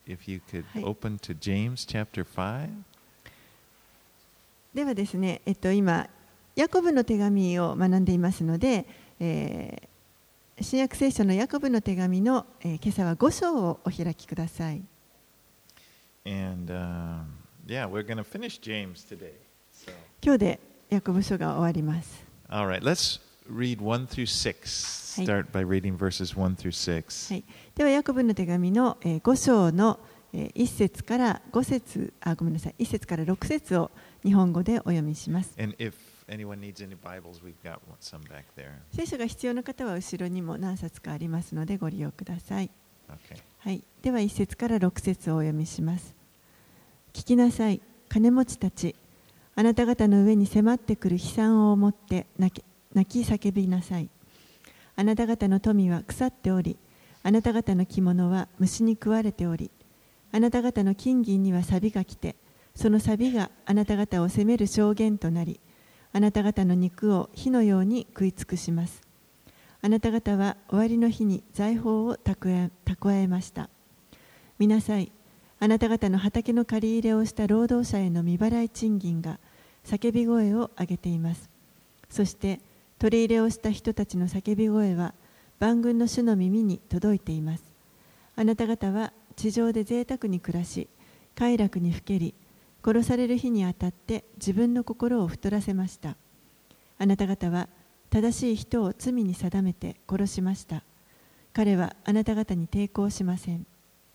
if you could open to James chapter 5. ではですね、今ヤコブの手紙を学んでいますので、新約聖書のヤコブの手紙の、今朝は5章をお開きください。 And yeah, we're going to finish James today. So. 今日でヤコブ書が終わります。 All right, let's read 1 through 6. Start by reading verses 1 through 6. はい、ではヤコブの手紙の5章の1節から5節、ごめんなさい、1節から6節を日本語でお読みします。 And if anyone needs any Bibles, we've got some back there. 聖書が必要な方は後ろにも何冊かありますのでご利用ください。 Okay. はい、では1節から6節をお読みします。聞きなさい、金持ちたち。あなた方の上に迫ってくる悲惨を思って泣き叫びなさい。あなた方の富は腐っており、あなた方の着物は虫に食われており、あなた方の金銀には錆が来て、その錆があなた方を責める証言となり、あなた方の肉を火のように食い尽くします。あなた方は終わりの日に財宝を蓄えました。見なさい、あなた方の畑の借り入れをした労働者への未払い賃金が叫び声を上げています。そして取り入れをした人たちの叫び声は万軍の主の耳に届いています。あなた方は地上で贅沢に暮らし、快楽にふけり、殺される日にあたって自分の心を太らせました。あなた方は正しい人を罪に定めて殺しました。彼はあなた方に抵抗しません。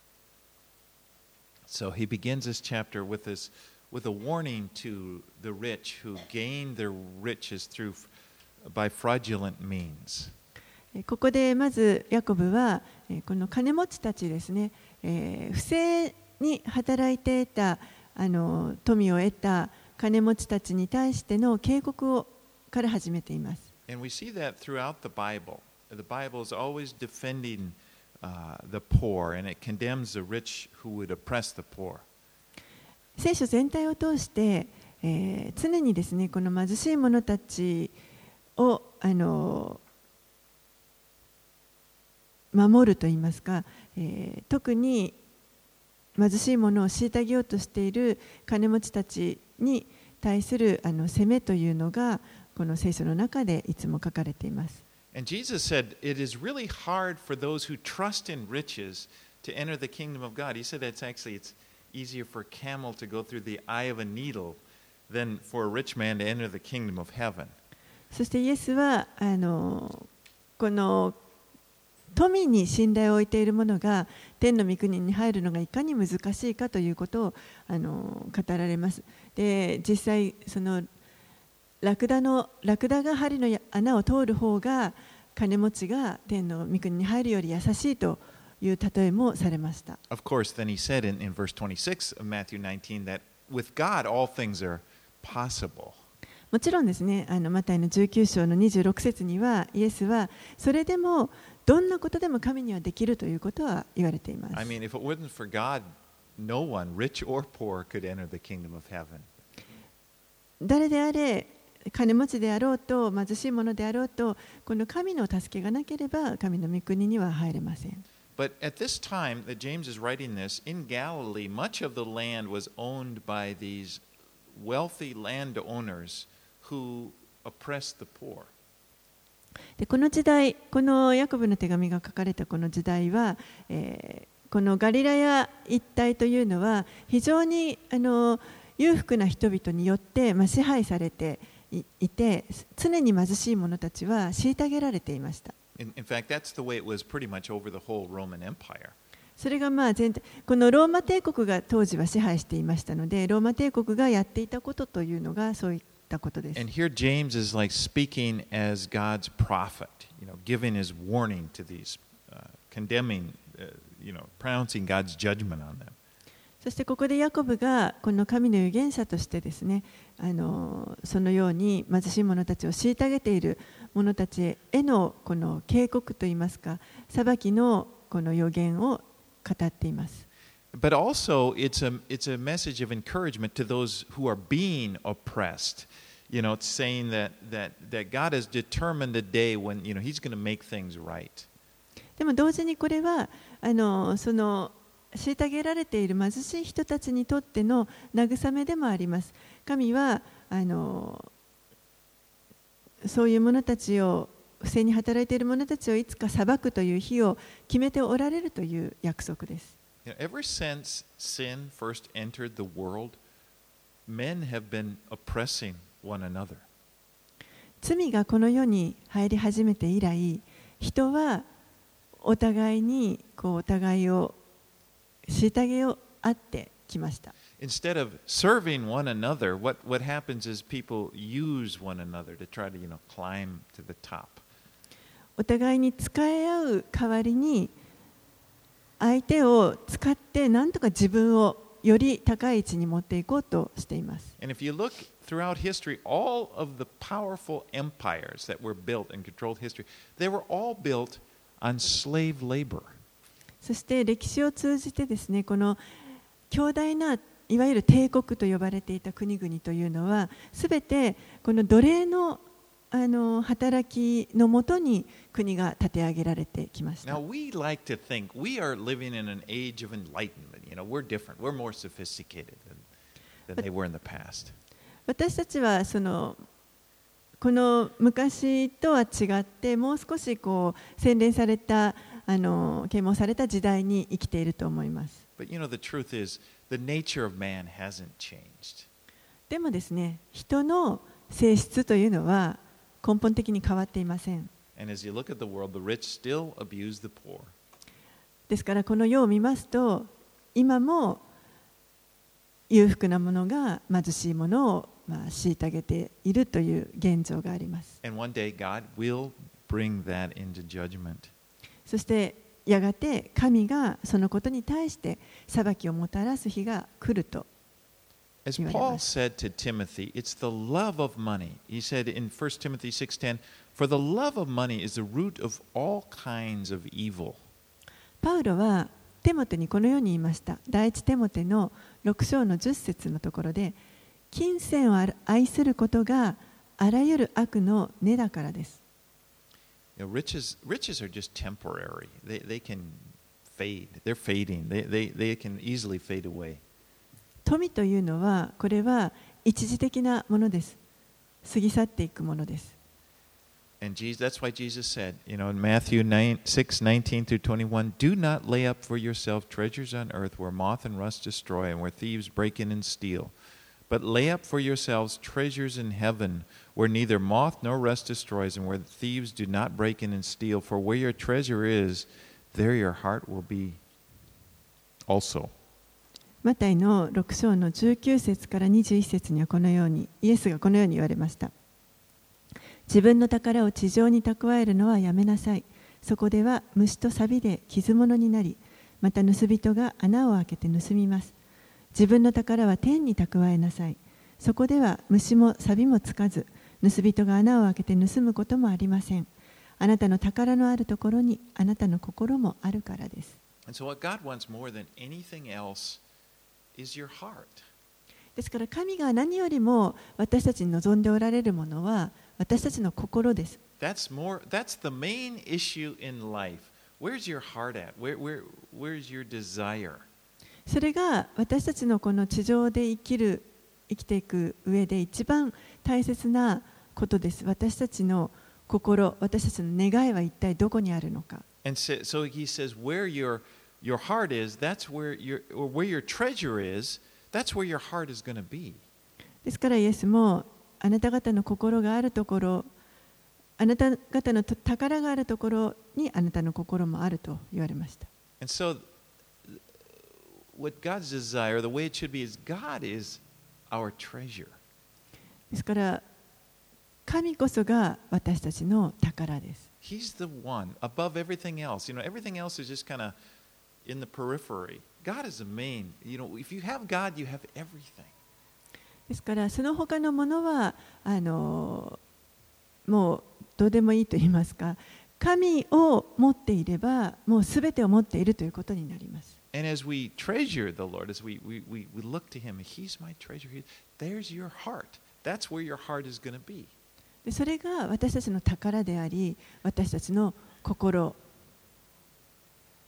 So he begins this chapter with a warning to the rich who gain their riches by fraudulent means. ここでまずヤコブはこの金持ちたちですね、不正に働いて得た富を得た金持ちたちに対しての警告から始めています。 And we see that throughout the Bible. The Bible is always defending the poor, and it condemns the rich who would oppress the poor. 聖書全体を通して、常にですね、この貧しい者たちを守るといいますか、特に貧しい者を虐げようとしている金持ちたちに対する責めというのがこの聖書の中でいつも書かれています。 And Jesus said it is really hard for those who trust in riches to enter the kingdom of God. He said it's easier for a camel to go through the eye of a needle than for a rich man to enter the kingdom of heaven. そしてイエスはこの富に信頼を置いている者が天の御国に入るのがいかに難しいかということを語られます。で、実際そのラクダが針の穴を通る方が金持ちが天の御国に入るより優しいという例えもされました。 Of course, then he said in verse 26 of Matthew 19 that with God all things are possible. もちろんですね、マタイの19章の26節にはイエスはそれでもどんなことでも神にはできるということは言われています。 I mean, if it wasn't for God, no one, rich or poor, could enter the kingdom of heaven. 誰であれ、金持ちであろうと貧しい者であろうと、この神の助けがなければ神の御国には入れません。 But at this time that James is writing this, in Galilee, much of the land was owned by these wealthy landowners who oppressed the poor. でこの時代、このヤコブの手紙が書かれたこの時代は、このガリラヤ一帯というのは非常に裕福な人々によって、支配されていて、常に貧しい者たちは虐げられていました。 In fact, that's the way it was pretty much over the whole Roman Empire. それが全体、このローマ帝国が当時は支配していましたので、ローマ帝国がやっていたことというのがそういったことです。 And here James is like speaking as God's prophet, giving his warning to these, condemning, pronouncing God's judgment on them. そしてここでヤコブがこの神の預言者としてですね、そのように貧しい者たちを虐げている者たちへのこの警告といいますか、裁きのこの預言を語っています。 But also, it's a message of encouragement to those who are being oppressed. It's saying that God has determined a day when He's going to make things right. でも同時にこれはその虐げられている貧しい人たちにとっての慰めでもあります。神はそういう者たちを、不正に働いている者たちをいつか裁くという日を決めておられるという約束です。 Ever since sin first entered the world, men have been oppressing one another. 罪がこの世に入り始めて以来、人はお互いにお互いを虐げをあってきました。 Instead of serving one another, what happens is people use one another to try to, climb to the top. お互いに使い合う代わりに、相手を使って何とか自分をより高い位置に持っていこうとしています。 And if you look throughout history, all of the powerful empires that were built and controlled history, they were all built on slave labor. そして歴史を通じてですね、この強大ないわゆる帝国と呼ばれていた国々というのは、すべてこの奴隷の働きのもとに国が立て上げられてきました。 Now we like to think we are living in an age of enlightenment. We're different. We're more sophisticated than they were in the past. 私たちはこの昔とは違って、もう少し洗練された啓蒙された時代に生きていると思います。 But the truth is, the nature of man hasn't changed. でもですね、人の性質というのは根本的に変わっていません。 And as you look at the world, the rich still abuse the poor. ですからこの世を見ますと、今も裕福な者が貧しい者を虐げているという現状があります。 And one day God will bring that into judgment. そしてやがて神がそのことに対して裁きをもたらす日が来ると。 As Paul said to Timothy, it's the love of money. He said in 1 Timothy 6:10, for the love of money is the root of all kinds of evil. パウロはテモテにこのように言いました。第一テモテの6章の10節のところで、金銭を愛することがあらゆる悪の根だからです。 Riches are just temporary. They can fade. They're fading. They can easily fade away. 富というのは、これは一時的なものです。過ぎ去っていくものです。 And that's why Jesus said, in Matthew 6:19 through 21, do not lay up for yourself treasures on earth where moth and rust destroy and where thieves break in and steal. But lay up for yourselves treasures in heaven where neither moth nor rust destroys and where the thieves do not break in and steal. For where your treasure is, there your heart will be also. マタイの6章の19節から21節にはこのように、イエスがこのように言われました。自分の宝を地上に蓄えるのはやめなさい。そこでは虫と錆で傷物になり、また盗人が穴を開けて盗みます。自分の宝は天に蓄えなさい。そこでは虫も錆もつかず、盗人が穴を開けて盗むこともありません。あなたの宝のあるところにあなたの心もあるからです。 And so what God wants more than anything else is your heart. ですから神が何よりも私たちに望んでおられるものは私たちの心です。 That's the main issue in life. Where's your heart at? Where's your desire? それが私たちのこの地上で生きていく上で一番大切なことです。私たちの心、私たちの願いは一体どこにあるのか。 And so he says, where your heart is, that's where your treasure is, that's where your heart is going to be. ですからイエスもあなた方の心があるところ、あなた方の宝があるところにあなたの心もあると言われました。 And so what God's desire, the way it should be, is God is our treasure. ですから神こそが私たちの宝です。 He's the one above everything else. Everything else is just kind of in the periphery. God is the main. If you have God, you have everything. ですからその他のものはもうどうでもいいと言いますか、神を持っていればもうすべてを持っているということになります。 And as we treasure the Lord, as we look to Him, He's my treasure. There's your heart. That's where your heart is going to be. でそれが私たちの宝であり、私たちの心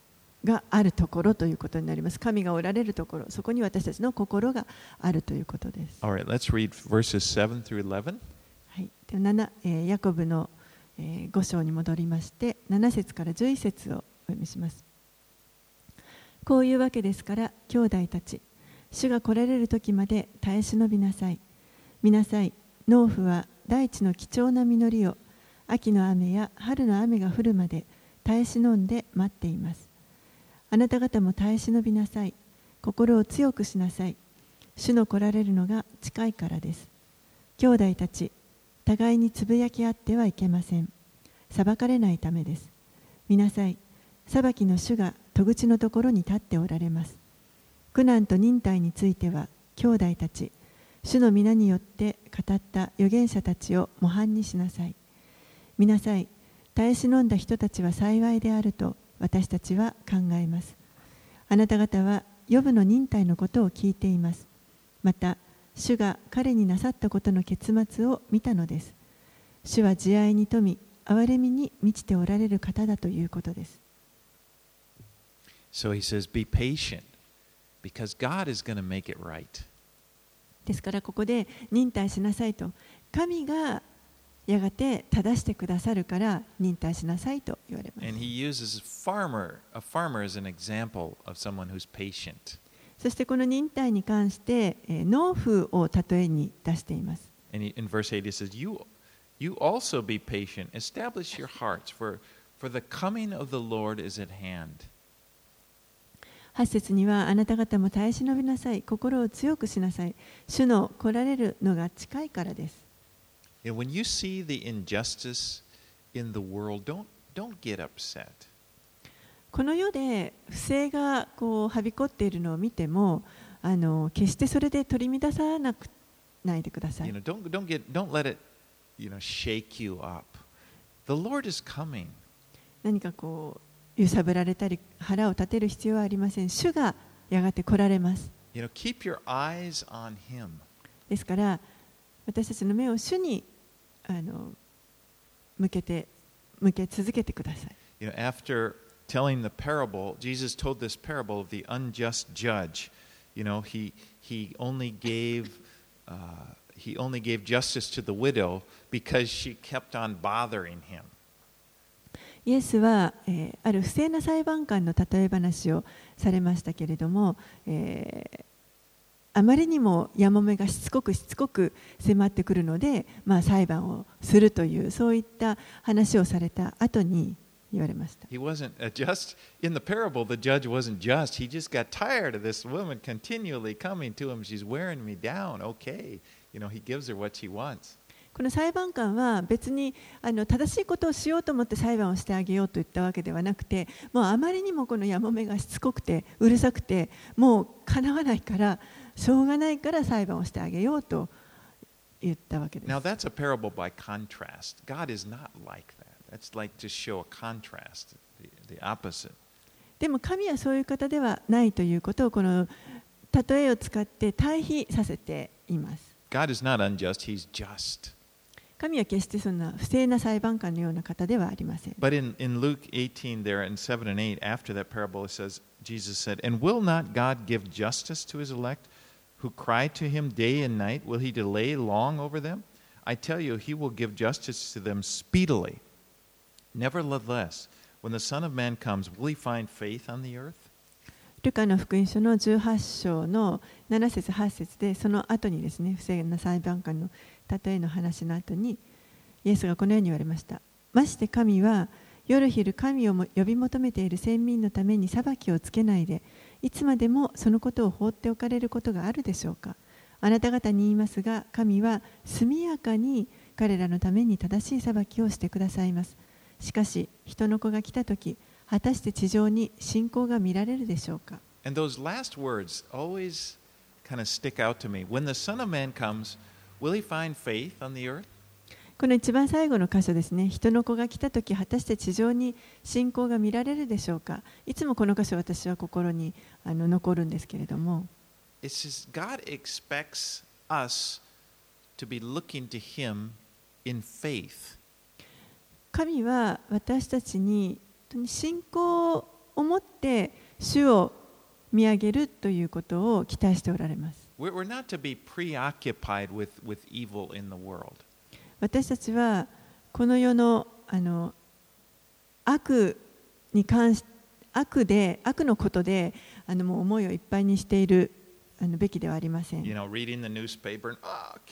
があるところということになります。神がおられるところ、そこに私たちの心があるということです。 All right, let's read verses 7 through 11. はい、でヤコブの5章に戻りまして、7節から11節をお読みします。こういうわけですから、兄弟たち、主が来られる時まで耐え忍びなさい。見なさい、農夫は大地の貴重な実りを秋の雨や春の雨が降るまで耐え忍んで待っています。あなた方も耐え忍びなさい。心を強くしなさい。主の来られるのが近いからです。兄弟たち、互いにつぶやき合ってはいけません。裁かれないためです。見なさい、裁きの主が戸口のところに立っておられます。苦難と忍耐については、兄弟たち、主の皆によって語った預言者たちを模範にしなさい。見なさい、耐え忍んだ人たちは幸いであると私たちは考えます。あなた方はヨブの忍耐のことを聞いています。また、主が彼になさったことの結末を見たのです。主は慈愛に富み、憐れみに満ちておられる方だということです。 So he says, be patient, because God is going to make it right. ですからここで忍耐しなさいと、神がやがて正してくださるから忍耐しなさいと言われます。 And he uses a farmer as an example of someone who's patient. そしてこの忍耐に関して農夫を例えに出しています。 And in verse 8 he says, you also be patient, establish your hearts, for the coming of the Lord is at hand. 8節には、あなた方も耐え忍びなさい。心を強くしなさい。主の来られるのが近いからです。 When you see the injustice in the world, don't get upset. この世で不正がこうはびこっているのを見ても、決してそれで取り乱さないでください。 Don't let it, shake you up. The Lord is coming. 何かこう揺さぶられたり腹を立てる必要はありません。主がやがて来られます。 Keep your eyes on Him. ですから私たちの目を主に向け続けてください。 After telling the parable, Jesus told this parable of the unjust judge. He only gave justice to the widow because she kept on bothering him. イエスは、ある不正な裁判官の例え話をされましたけれども、あまりにもやもめがしつこく迫ってくるので、裁判をするというそういった話をされた後に言われました。 He wasn't just in the parable. The judge wasn't just. He just got tired of this woman continually coming to him. She's wearing me down. Okay, he gives her what she wants. この裁判官は別に正しいことをしようと思って裁判をしてあげようと言ったわけではなくて、もうあまりにもこのやもめがしつこくてうるさくて、もうかなわないからしょうがないから裁判をしてあげようと言ったわけです。 Now that's a parable by contrast. God is not like that. That's like to show a contrast, the opposite. でも神はそういう方ではないということをこの例えを使って対比させています。 God is not unjust, He's just. 神は決してそんな不正な裁判官のような方ではありません。 But in Luke 18 there in 7 and 8, after that parable, it says, Jesus said, And will not God give justice to His elect, who cry to Him day and night? Will He delay long over them? I tell you, He will give justice to them speedily. Nevertheless, when the Son of Man comes, will He find faith on the earth? ルカの福音書の18章の7節8節で、その後にですね、不正な裁判官の例えの話の後に、イエスがこのように言われました。まして神は夜昼神を呼び求めている先民のために裁きをつけないで、いつまでもそのことを放っておかれることがあるでしょうか。あなた方に言いますが、神は速やかに彼らのために正しい裁きをしてくださいます。しかし人の子が来たとき、果たして地上に信仰が見られるでしょうか。 And those last words always kind of stick out to me. When the Son of Man comes, will He find faith on the earth? この一番最後の箇所ですね。人の子が来たとき、果たして地上に信仰が見られるでしょうか。いつもこの箇所、私は心に残るんですけれども。 It says God expects us to be looking to Him in faith. 神は私たちに信仰思って主を見上げるということを期待しておられます。 We're not to be preoccupied with evil in the world. 私たちはこの世の悪に関し悪のことでもう思いをいっぱいにしているべきではありません。 You know, reading the newspaper and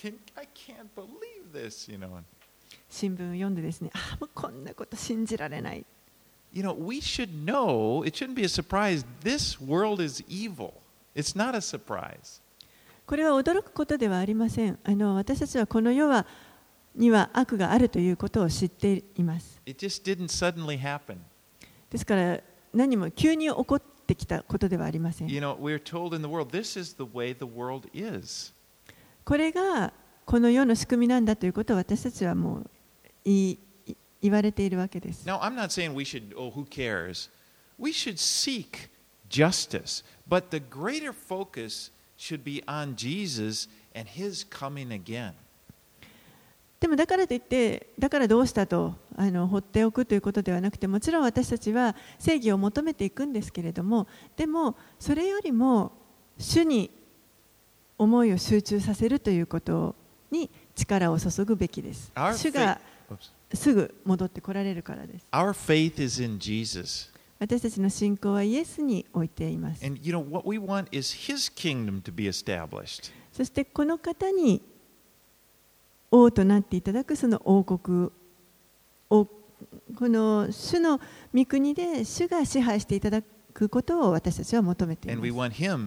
I can't believe this, you know. 新聞を読んでですね、もうこんなこと信じられない。 You know, we should know, it shouldn't be a surprise, this world is evil. It's not a surprise. これは驚くことではありません。私たちはこの世には悪があるということを知っています。 It just didn't suddenly happen. ですから何も急に起こってきたことではありません。 You know, we're told in the world, this is the way the world is. これがこの世の仕組みなんだということを私たちはもう言われているわけです。 Now, I'm not saying we should, who cares? We should seek justice, but the greater focus should be on Jesus and his coming again. でもだからといって、だからどうしたと放っておくということではなくて、もちろん私たちは正義を求めていくんですけれども、でもそれよりも主に思いを集中させるということに力を注ぐべきです。主がすぐ戻ってこられるからです。 Our faith is in Jesus. 私たちの信仰はイエスに置いています。 And you know what we want is his kingdom to be established. そしてこの方に王となっていただくその王国を、この主の御国で主が支配していただくことを私たちは求めています。 And we want him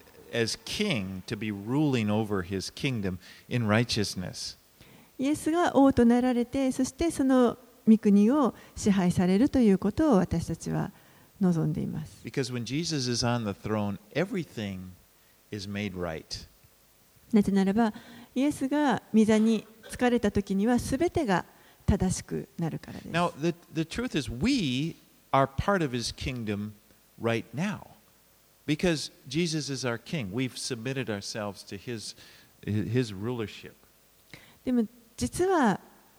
as king to be ruling over his kingdom in righteousness. イエスが王となられて、そしてその御国を支配されるということを私たちは望んでいます。 Because when Jesus is on the throne, everything is made right. なぜならば、イエスが御座につかれたときにはすべてが正しくなるからです。 Now, the truth is, we are part of his kingdom right now. Because Jesus is our king. We've submitted ourselves to his rulership. でも実は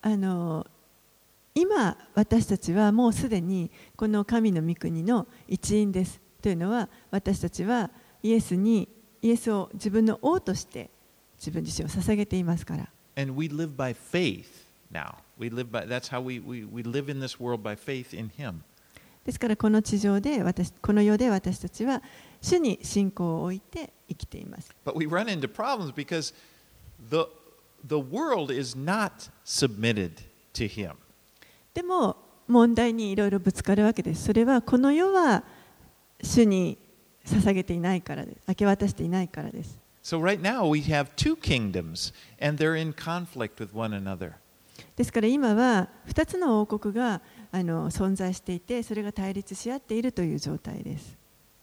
今私たちはもうすでにこの神の御国の一員です。というのは、私たちはイエスを自分の王として自分自身を捧げていますから。 And we live by faith now. That's how we live in this world by faith in him. ですからこの地上でこの世で私たちは主に信仰を置いて生きています。 But we run into problems because the world is not submitted to him. でも問題にいろいろぶつかるわけです。それはこの世は主に捧げていないからです。明け渡していないからです。 So right now we have two kingdoms and they're in conflict with one another. ですから今は2つの王国が存在していて、それが対立し合っているという状態です。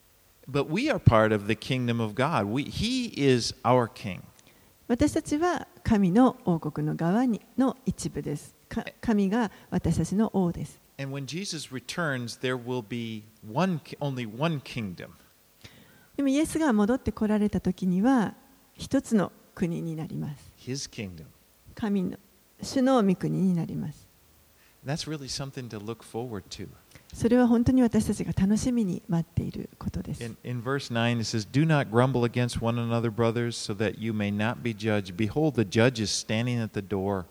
But we are part of the kingdom of God. He is our king. 私たちは神の王国の側の一部です。神が私たちの王です。 And when Jesus returns, there will be only one kingdom. でもイエスが戻ってこられた時には一つの国になります。 His kingdom. 神の主の御国になります。 That's really something to look forward to. それは本当に私たちが楽しみに待っていることです。 In verse 9 it says, Do not grumble against one another, brothers, so that you may not be judged. Behold, the judge is standing at the door.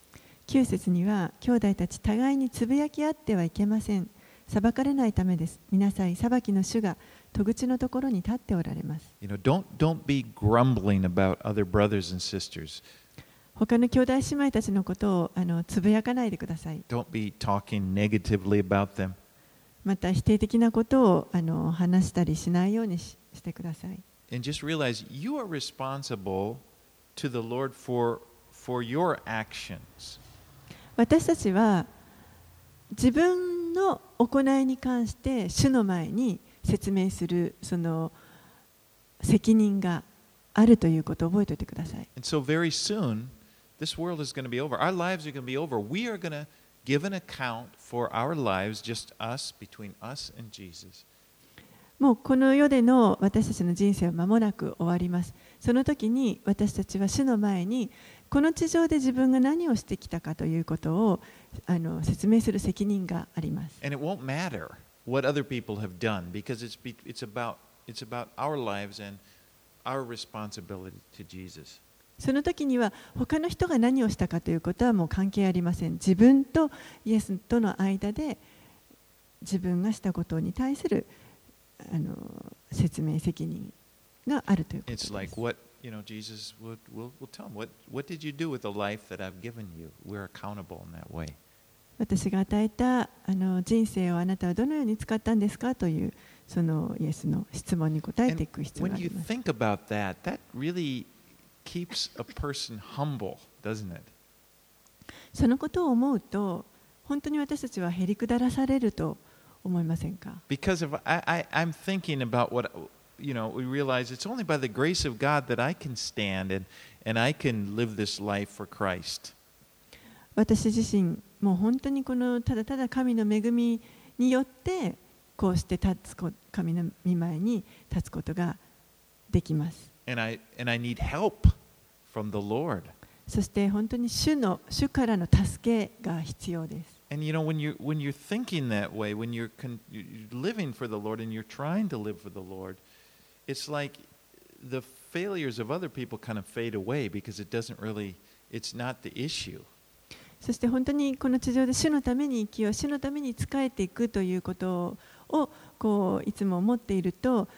9節には、兄弟たち互いにつぶやき合ってはいけません。裁かれないためです。見なさい、裁きの主が戸口のところに立っておられます。 You know, don't be grumbling about other brothers and sisters. 他の兄弟姉妹たちのことをつぶやかないでください。 Don't be talking negatively about them. また否定的なことを話したりしないようにしてください。 And just realize you are responsible to the Lord for your actions. 私たちは自分の行いに関して主の前に説明するその責任があるということを覚えておいてください。 And so very soon, this world is going to be over. Our lives are going to be over. We are going to give an account for our lives, just us, between us and Jesus. もうこの世での私たちの人生は間もなく終わります。その時に私たちは主の前にこの地上で自分が何をしてきたかということを説明する責任があります。 And it won't matter what other people have done, because it's about our lives and our responsibility to Jesus. その時には他の人が何をしたかということはもう関係ありません。自分とイエスとの間で自分がしたことに対する説明責任があるということです。 It's like what Jesus will tell them. What did you do with the life that I've given you? We're accountable in that way. 私が与えた人生をあなたはどのように使ったんですかというそのイエスの質問に答えていく必要があ When り you ます。 think about that, that really keeps a person humble, doesn't it? そのことを思うと本当に私たちはへりくだらされると思いませんか？ Because if I'm thinking about what, we realize it's only by the grace of God that I can stand and I can live this life for Christ. 私自身もう本当にただただ神の恵みによってこうして神の御前に立つことができます。 And I need help from the Lord. そして本当に主からの助けが必要です。 And when you're thinking that way, when you're living for the Lord and you're trying to live for the Lord, it's like the failures of other people kind of fade away because it's not the issue. そして本当にこの地上で主のために生きよう、主のために仕えていくということをいつも思っていると、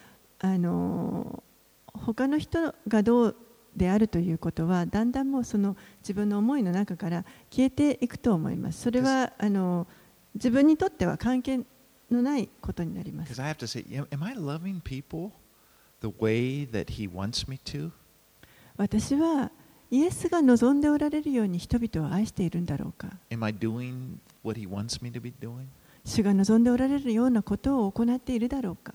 他の人がどうであるということはだんだんもうその自分の思いの中から消えていくと思います。それは自分にとっては関係のないことになります。 Because I have to say, am I loving people the way that He wants me to? 私はイエスが望んでおられるように人々を愛しているんだろうか。 Am I doing what He wants me to be doing? 主が望んでおられるようなことを行っているだろうか。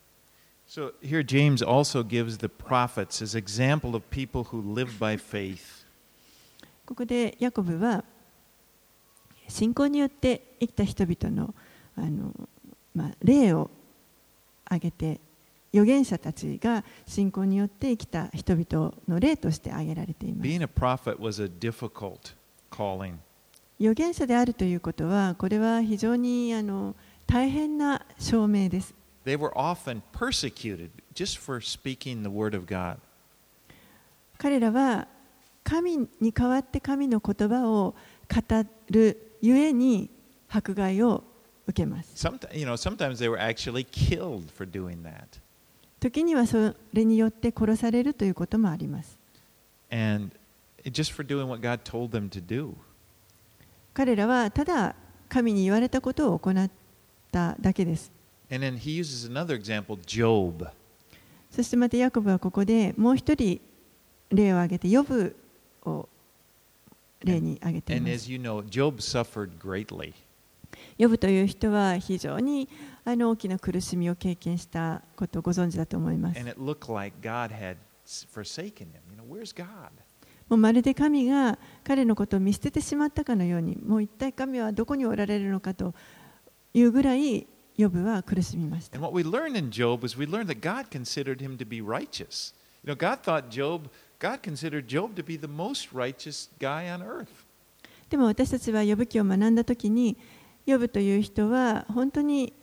So here James also gives the prophets as example of people who live by faith. ここでヤコブは信仰によって生きた人々の例を挙げて、預言者たちが信仰によって生きた人々の例として挙げられています。 Being a prophet was a difficult calling. 預言者であるということは、これは非常に大変な証明です。 They were often persecuted just for speaking the word of God. 彼らは神に代わって神の言葉を語るゆえに迫害を受けます。 Sometimes they were actually killed for doing that. 時にはそれによって殺されるということもあります。 And just for doing what God told them to do. 彼らはただ神に言われたことを行っただけです。 And then he uses another example, Job. そしてまたヤコブはここでもう一人例を挙げてヨブを例に挙げてい And ま as す。 you know, Job suffered greatly. ヨブという人は非常に大きな苦しみを経験したことをご存知だと思います。 And it looked like God had forsaken him. Where's God? もうまるで神が彼のことを見捨ててしまったかのように、もう一体神はどこにおられるのかというぐらいヨブは苦しみました。 And what we learned in Job is we learned that God considered him to be righteous. God considered Job to be the most righteous guy on earth. でも私たちはヨブ記を学んだときに、ヨブという人は本当に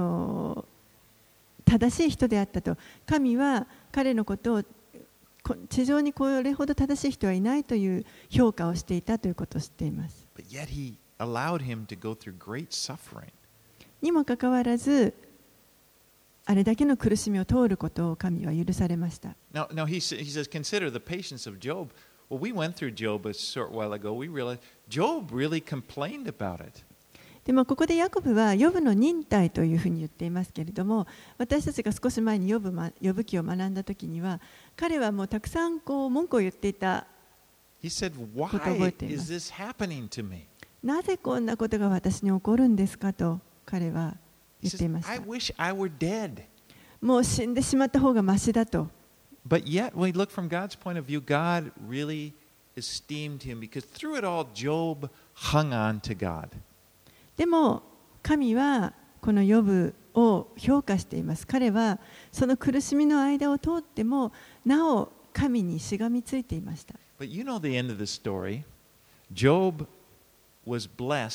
正しい人であったと。神は彼のことを地上にこれほど正しい人はいないという評価をしていたということを知っています。 But yet he allowed him to go through great suffering. にもかかわらず、あれだけの苦しみを通ることを神は許されました。 Now he says, consider the patience of Job. Well, we went through Job a short while ago. We realized Job really complained about it. でもここでヤコブはヨブの忍耐というふうに言っていますけれども、私たちが少し前にヨブ記を学んだときには、彼はもうたくさん文句を言っていた。 He said, Why is this happening to me? なぜこんなことが私に起こるんですかと彼は He 言ってい says, まし I た。 wish I were dead. もう死んでしまった方がましだと。 But yet, when we look from God's point of view, God really esteemed him because through it all, Job hung on to God. でも神はこのヨブを評価しています。彼はその苦しみの間を通ってもなお神にしがみついていました。 But you know the end of the story. Job was blessed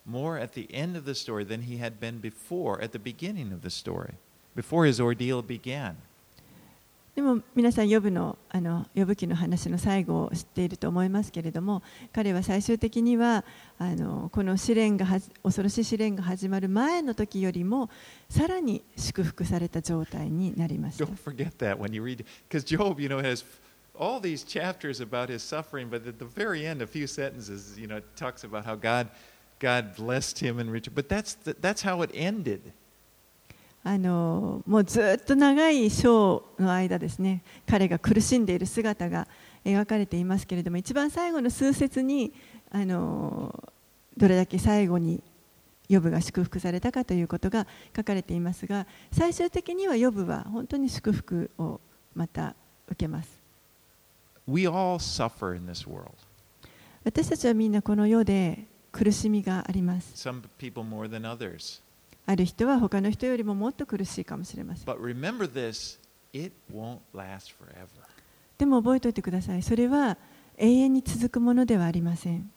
more at the end of the story than he had been before at the beginning of the story, before his ordeal began. でも皆さんヨブ記の話の最後を知っていると思いますけれども、彼は最終的にはこの恐ろしい試練が始まる前の時よりもさらに祝福された状態になりました。 Don't forget that when you read, because Job, has all these chapters about his suffering, but at the very end, a few sentences, it talks about how God blessed him and Richard. But that's how it ended. もうずっと長い章の間ですね、彼が苦しんでいる姿が描かれていますけれども、一番最後の数節にどれだけ最後にヨブが祝福されたかということが書かれていますが、最終的にはヨブは本当に祝福をまた受けます。 We all suffer in this world. 私たちはみんなこの世で苦しみがあります。 Some people more than others. ある人は他の人よりももっと苦しいかもしれません。 But remember this, it won't last forever. でも覚えておいてください。それは永遠に続くものではありません。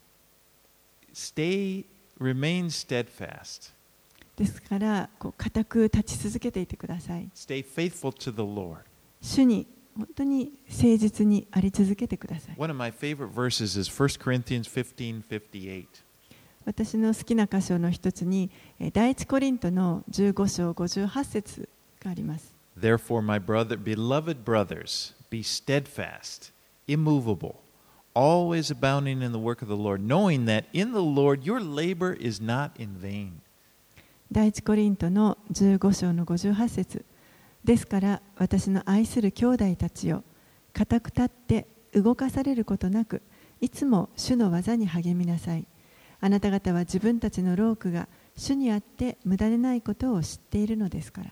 Remain steadfast. ですから固く立ち続けていてください。 Stay faithful to the Lord. 主に本当に誠実にあり続けてください。 One of my favorite verses is 1 Corinthians 15:58. 私の好きな箇所の一つに第一コリントの15章58節があります。 Therefore, my beloved brothers, be steadfast, immovable, always abounding in the work of the Lord, knowing that in the Lord your labor is not in vain. 第一コリントの15章の58節ですから私の愛する兄弟たちよ、固く立って動かされることなくいつも主の技に励みなさい。あなた方は自分たちの労苦が主にあって無駄でないことを知っているのですから。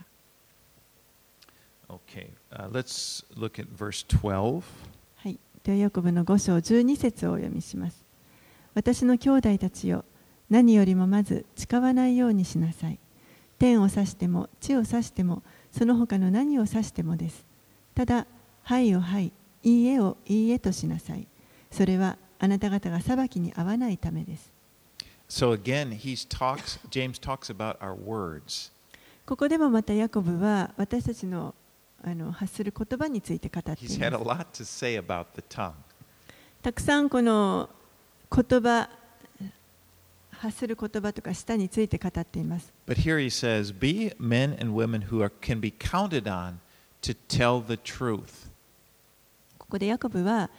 Okay, let's look at verse 12. はい、ではヤコブの5章12節をお読みします。私の兄弟たちよ、何よりもまず誓わないようにしなさい。天を指しても地を指してもその他の何を指してもです。ただ、はいをはい、いいえをいいえとしなさい。それはあなた方が裁きに合わないためです。 So again, James talks about our words. ここでもまたヤコブは私たちの発する言葉について語ってい He's ま had a す。 lot to say about the tongue. たくさんこの言葉、発する言葉とか舌について語っています。 But here he says, be men and women who can be counted on to tell the truth. ここでヤコブは、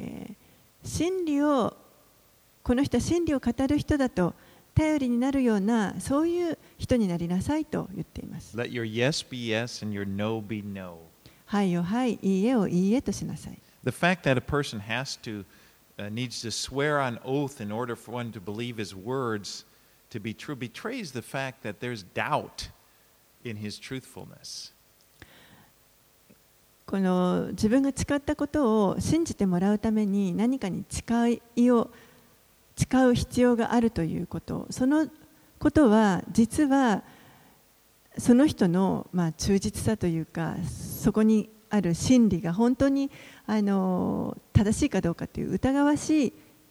この人は真理を語る人だと頼りになるようなそういう人になりなさいと言っています。 Let your yes be yes and your no be no. はいをはい、いいえをいいえとしなさい。 The fact that a person needs to swear on oath in order for one to believe his words to be true betrays the fact that there's doubt in his truthfulness. この自分が誓ったことを信じてもらうために何かに誓う必要があるということ、そのことは実はその人の忠実さというか、そこにある真理が本当に正しいかどうかという疑わしい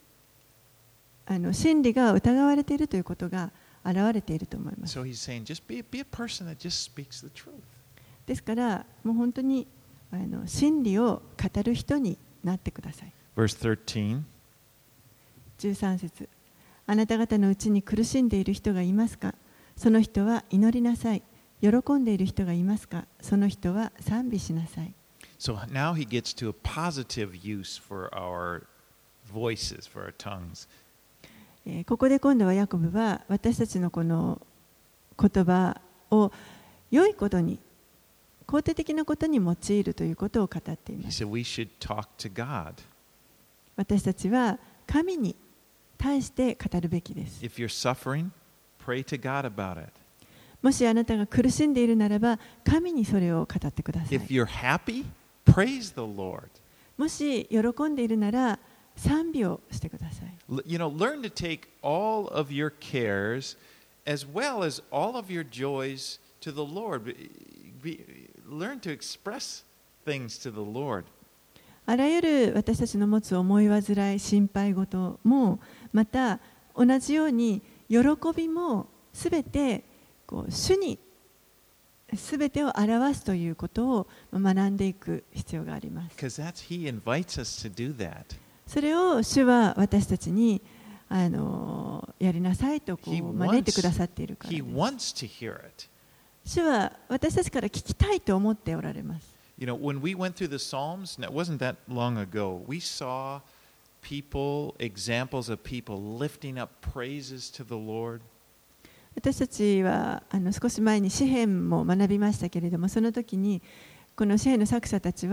真理が疑われているということが現れていると思います。 So he's saying, just be a person that just speaks the truth. ですからもう本当に真理を語る人になってください。 Verse 13. 13節、あなた方のうちに苦しんでいる人がいますか？その人は祈りなさい。喜んでいる人がいますか？その人は賛美しなさい。 So now he gets to a positive use for our voices, for our tongues. ここで今度はヤコブは私たちのこの言葉を良いことに、肯定的なことに用いるということを語っていま He す。 said we should talk to God. 私たちは神に対して語るべきです。 If you're suffering, pray to God about it. もしあなたが苦しんでいるならば、神にそれを語ってください。 If you're happy, praise the Lord. もし喜んでいるなら、賛美をしてください。 Learn to take all of your cares as well as all of your joys to the Lord. Learn to express things to the Lord. あらゆる私たちの持つ思い煩い、心配事もまた同じように喜喜びもすべてこう主にすべてを表すということを学んでいく必要があります。 He invites us to do that. それを主は私たちにやりなさいとこう招いてくださっているからです。 He wants to hear it. 主は私たちから聞きたいと思っておられます。 You know, when we went through the Psalms, it wasn't that long ago, we saw people, examples of people lifting up praises to the Lord. 私たちは少し前に詩編も学びましたけれども、その時にこの詩編の作者たち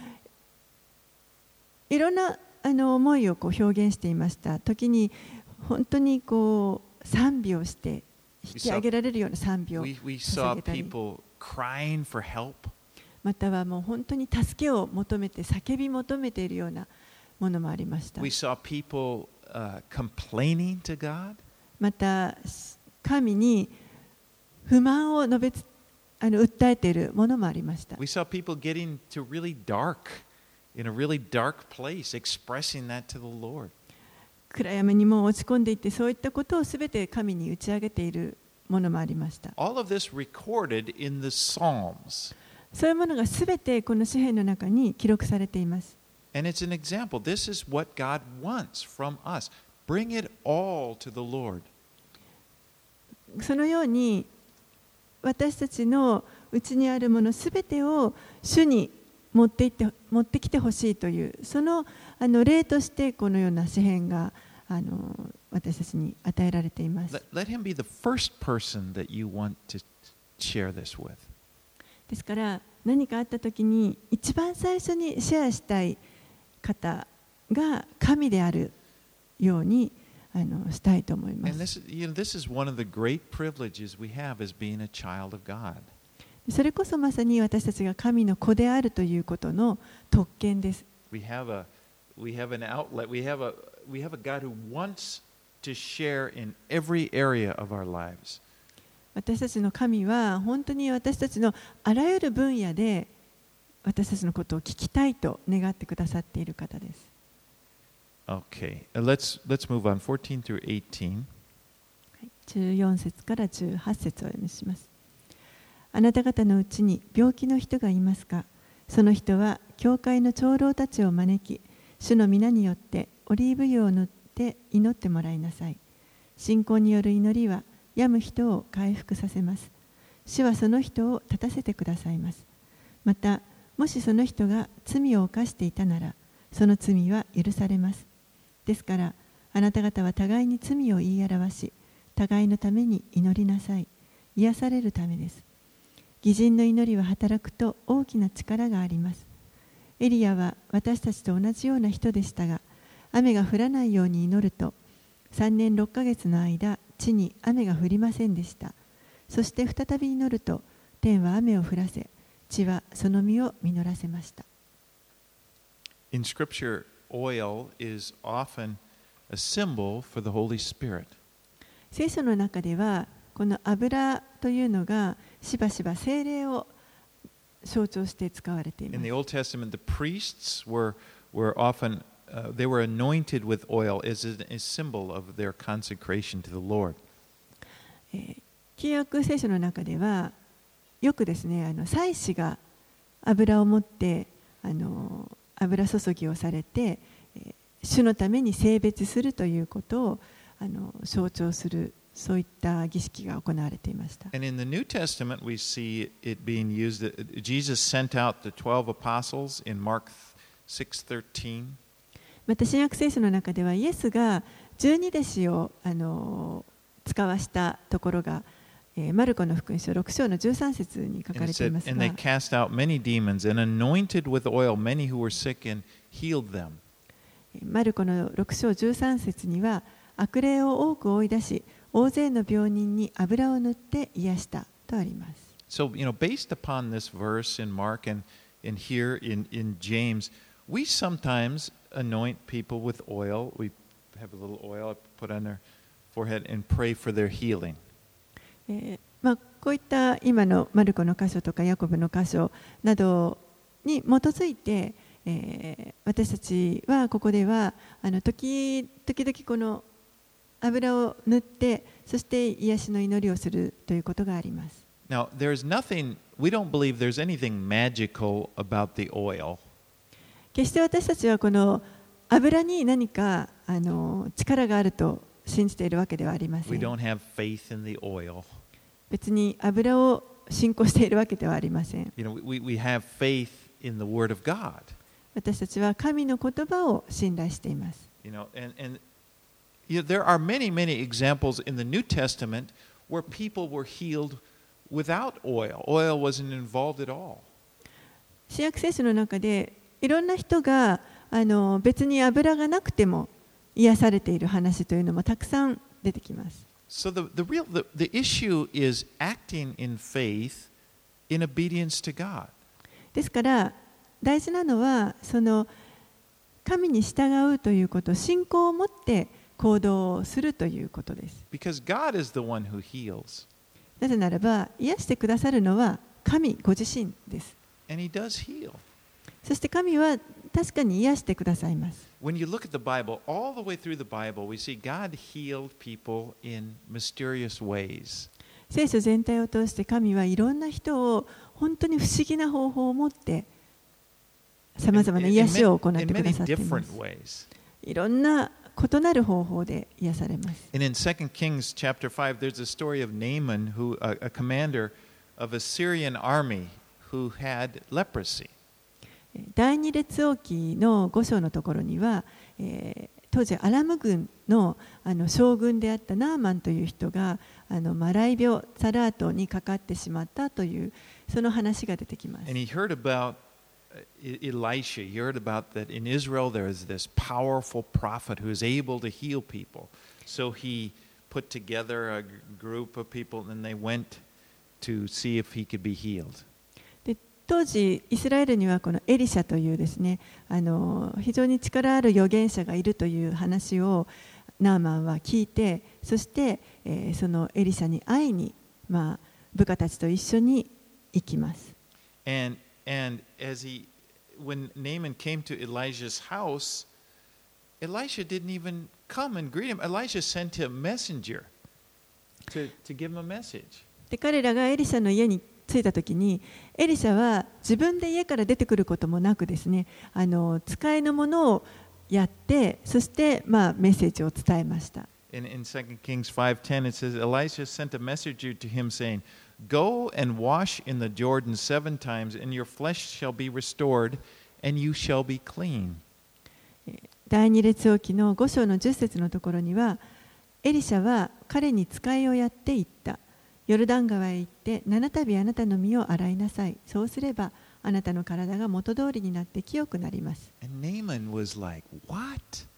はいろんな思いをこう表現していました。時に本当にこう賛美をして引き上げられるような賛美を捧げたり、またはもう本当に助けを求めて叫び求めているようなものもありました。 We saw people complaining to God. また神に不満を訴えているものもありました。 We saw people getting to really dark, in a really dark place, expressing that to the Lord. 暗闇にも落ち込んでいって、そういったことをすべて神に打ち上げているものもありました。 All of this recorded in the Psalms. そういうものがすべてこの詩篇の中に記録されています。 And it's an example. This is what God wants from us. Bring it all to the Lord. そのように私たちのうちにあるものすべてを主に持ってきてほしいというその例としてこのような詩篇が私たちに与えられています。 Let him be the first person that you want to share this with. ですから何かあったときに一番最初にシェアしたい方が神であるようにしたいと思います。 This is one of the great privileges we have as being a child of God. それこそまさに私たちが神の子であるということの特権です。 We have an outlet. We have a God who wants to share in every area of our lives. 私たちの神は本当に私たちのあらゆる分野で私たちのことを聞きたいと願ってくださっている方です。 Okay, let's move on. 14 through 18. 14節から18節をお読みします。あなた方のうちに病気の人がいますか？その人は教会の長老たちを招き、主の皆によってオリーブ油を塗って祈ってもらいなさい。信仰による祈りは病む人を回復させます。主はその人を立たせてくださいます。また、もしその人が罪を犯していたなら、その罪は許されます。ですから、あなた方は互いに罪を言い表し、互いのために祈りなさい。癒されるためです。義人の祈りは働くと大きな力があります。エリアは私たちと同じような人でしたが、雨が降らないように祈ると、3年6ヶ月の間、地に雨が降りませんでした。そして再び祈ると、天は雨を降らせ、地はその実を実らせました。 In Scripture, oil is often a symbol for the Holy Spirit. 聖書の中では、この油というのがしばしば聖霊を象徴して使われています。 In the Old Testament, the priests were often they were anointed with oil as a symbol of their consecration to the Lord. 旧約聖書の中ではよくですね、祭司が油を持って油注ぎをされて、主のために聖別するということを象徴する。そういった儀式が行われていました。 And in the New Testament, we see it being used that Jesus sent out the 12 apostles in Mark 6:13. また新約聖書の中ではイエスが12弟子を使わしたところが、マルコの福音書6章の13節に書かれていますが、 And they cast out many demons and anointed with oil many who were sick and healed them. マルコの6章13節には悪霊を多く追い出し、大勢の病人に油を塗って癒したとあります。 So, based upon this verse in Mark and here in James, we sometimes anoint people with oil. We have a little oil put on their forehead and pray for their healing. こういった今のマルコの箇所とかヤコブの箇所などに基づいて、私たちはここでは時々この油を塗って、そして癒しの祈りをするということがあります。 Now, there's nothing, we don't believe there's anything magical about the oil. 決して私たちはこの油に何か力があると信じているわけではありませ We ん。 don't have faith in the oil. 別に油を信仰しているわけではありません。 You know, we have faith in the Word of God. 私たちは神の言葉を信頼しています。 You know, and there are many, many examples in the New Testament where people were healed without oil. Oil wasn't involved at all. 新約聖書の中でいろんな人が別に油がなくても癒されている話というのもたくさん出てきます。 So the issue is acting in faith in obedience to God. ですから大事なのはその神に従うということ、信仰を持って行動をするということです。 Because God is the one who heals. なぜならば癒してくださるのは神ご自身です。 And He does heal. そして神は確かに癒してくださいます。 When you look at the Bible, all the way through the Bible, we see God healed people in mysterious ways. 聖書全体を通して神はいろんな人を本当に不思議な方法を持ってさまざまな癒しを行ってくださっています。いろんな異なる方法で癒されます。 And in 2 Kings chapter 5, there's a story of Naaman, a commander of a Syrian army who had leprosy. 第二列王記の5章のところには、当時アラム軍の将軍であったナーマンという人がマライ病サラートにかかってしまったというその話が出てきます。 And he heard about Elisha. He heard about that in Israel there is this powerful prophet who is able to heal people. So he put together a group of people and they went to see if he could be healed. 当時イスラエルにはこのエリシャというですね非常に力ある預言者がいるという話をナーマンは聞いて、そして、そのエリシャに会いに、部下たちと一緒に行きます。 And when Naaman came to Elijah's house, Elisha didn't even come and greet him. Elisha sent a messenger to give him a message. で彼らがエリシャの家に着いたときに、エリシャは自分で家から出てくることもなくですね、使いのものをやって、そして、メッセージを伝えました。 In 2 Kings 5:10 it says, Elisha sent a messenger to him saying, Go and wash in the Jordan 7 times, and your flesh shall be restored, and you shall be clean. 第二列王記の5章の10節のところには、エリシャは彼に使いをやって言った。ヨルダン川へ行って7度あなたの身を洗いなさい。そうすればあなたの体が元通りになって清くなります。 And Naaman was like, What?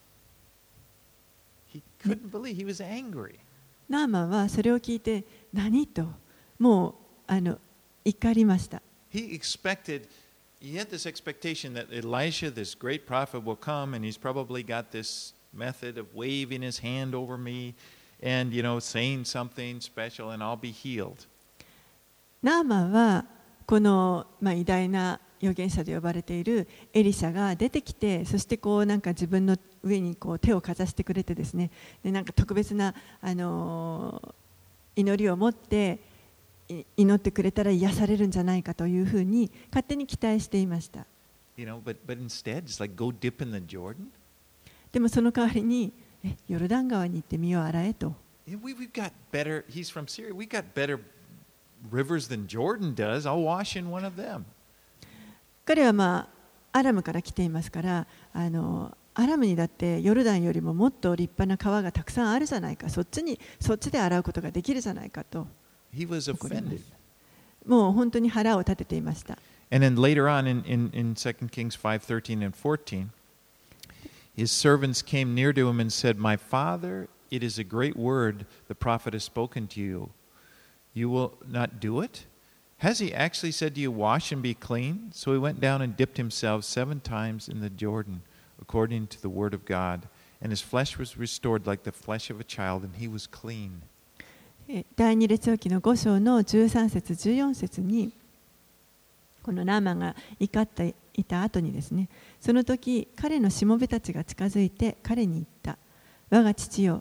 He couldn't believe, he was angry. ナーマンはそれを聞いて何ともう怒りました。 He had this expectation that Elisha, this great prophet, will come and he's probably got this method of waving his hand over me and, saying something special and I'll be healed. ナーマンはこの、偉大な預言者と呼ばれているエリシャが出てきて、そしてなんか自分の上に手をかざしてくれてですね、でなんか特別な、祈りを持って祈ってくれたら癒されるんじゃないかというふうに勝手に期待していました。 But instead, just like go dip in the Jordan. でもその代わりにヨルダン川に行って身を洗えと。 We've got better. He's from Syria. We got better rivers than Jordan does. I'll wash in one of them. 彼はアラムから来ていますから、アラムにだってヨルダンよりももっと立派な川がたくさんあるじゃないか。そっちで洗うことができるじゃないかと。 He was offended. もう本当に腹を立てていました。 And then later on in 2 Kings 5:13 and 14, his servants came near to him and said, My father, it is a great word the prophet has spoken to you. You will not do it? Has he actually said to you, Wash and be clean? So he went down and dipped himself 7 times in the Jordan, according to the word of God. And his flesh was restored like the flesh of a child, and he was clean. 第二列王記の5章の13節14節にこのナーマンが怒っていた後にですね、その時彼のしもべたちが近づいて彼に言った。我が父よ、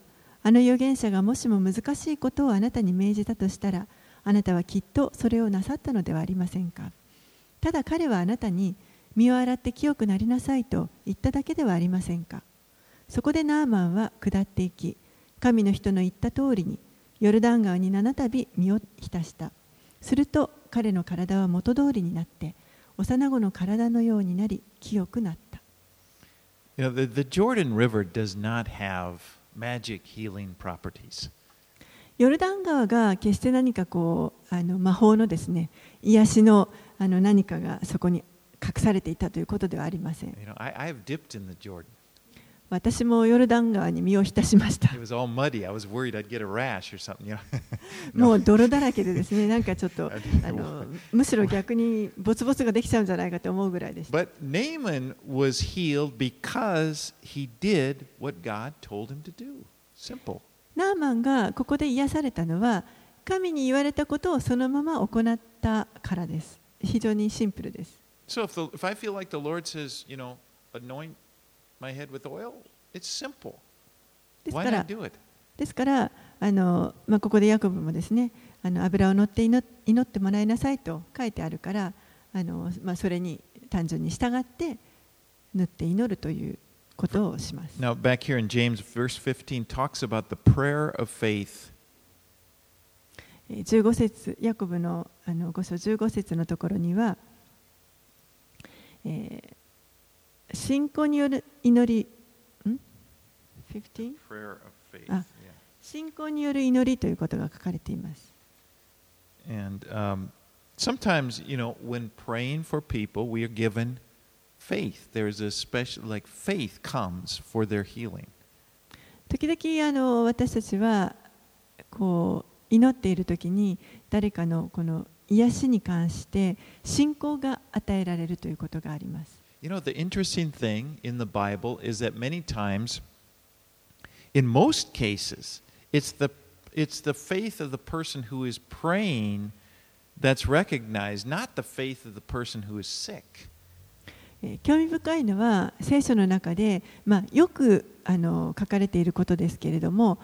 あの預言者がもしも難しいことをあなたに命じたとしたら、あなたはきっとそれをなさったのではありませんか。ただ彼はあなたに身を洗って清くなりなさいと言っただけではありませんか。そこでナーマンは下っていき、神の人の言った通りにヨルダン川に7度身を浸した。すると彼の体は元通りになって、幼子の体のようになり清くなった。 You know, the Jordan River does not have magic healing properties. ヨルダン川が決して何か魔法のですね、癒しの何かがそこに隠されていたということではありません。 You know, I've dipped in the Jordan. 私もヨルダン川に身を浸しました。 It was all muddy. I was worried I'd get a rash or something. You know? もう泥だらけでですね、なんかちょっとむしろ逆にボツボツができちゃうんじゃないかと思うぐらいでした。 But Naaman was healed because he did what God told him to do. Simple. ナーマンがここで癒されたのは、神に言われたことをそのまま行ったからです。非常にシンプルです。 So if I feel like the Lord says, you know, anoint my head with oil, it's simple. です Why から not do it? ですからここでヤコブもですね、油を乗って祈ってもらいなさいと書いてあるから、それに単純に従って塗って祈るということをします。 Now, back here in James, verse 15 talks about the prayer of faith. 15節、ヤコブの5章15節のところには、信仰による祈り、15? Prayer of faith. あ、信仰による祈りということが書かれています。 And sometimes, you know, when praying for people, we are given faith. There's a special, like faith comes for their healing. 時々私たちは祈っているときに誰かのこの癒しに関して信仰が与えられるということがあります。 You know, the interesting thing in the Bible is that many times, in most cases, it's the faith of the person who is praying that's recognized, not the faith of the person who is sick. 興味深いのは聖書の中で、よく書かれていることですけれども、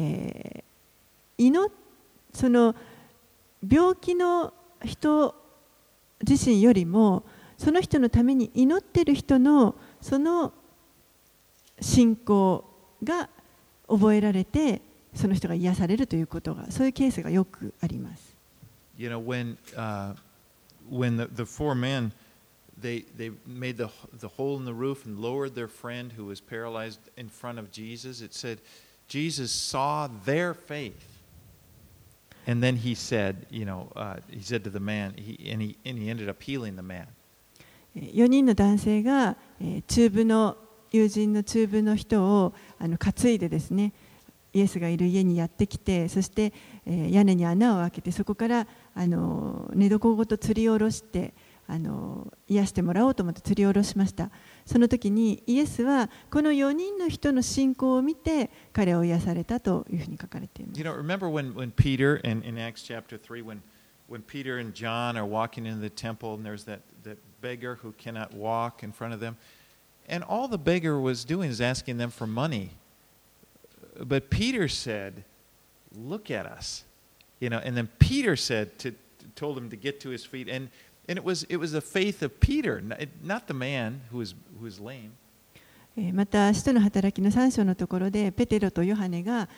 その病気の人自身よりもその人のために祈っている人のその信仰が覚えられて、その人が癒されるということが、そういうケースがよくあります。 You know, when the four men they made the hole in the roof and lowered their friend who was paralyzed in front of Jesus, it said Jesus saw their faith. And then he said, you know, he said to the man, and he ended up healing the man. 4人の男性が友人の中部の人を担いでですね、イエスがいる家にやってきて、そして屋根に穴を開けて、そこから寝床ごと吊り下ろして癒してもらおうと思って吊り下ろしました。その時にイエスはこの4人の人の信仰を見て彼を癒されたというふうに書かれています。 You know, remember when Peter in Acts chapter 3, when Peter and John are walking into the temple and there's that beggar who cannot walk in front of them, and all the beggar was doing is asking them for money. But Peter said, "Look at us," you know. And then Peter told him to get to his feet, and it was the faith of Peter, not the man who was lame. また使徒の働きの3章のところでペテロとヨハネが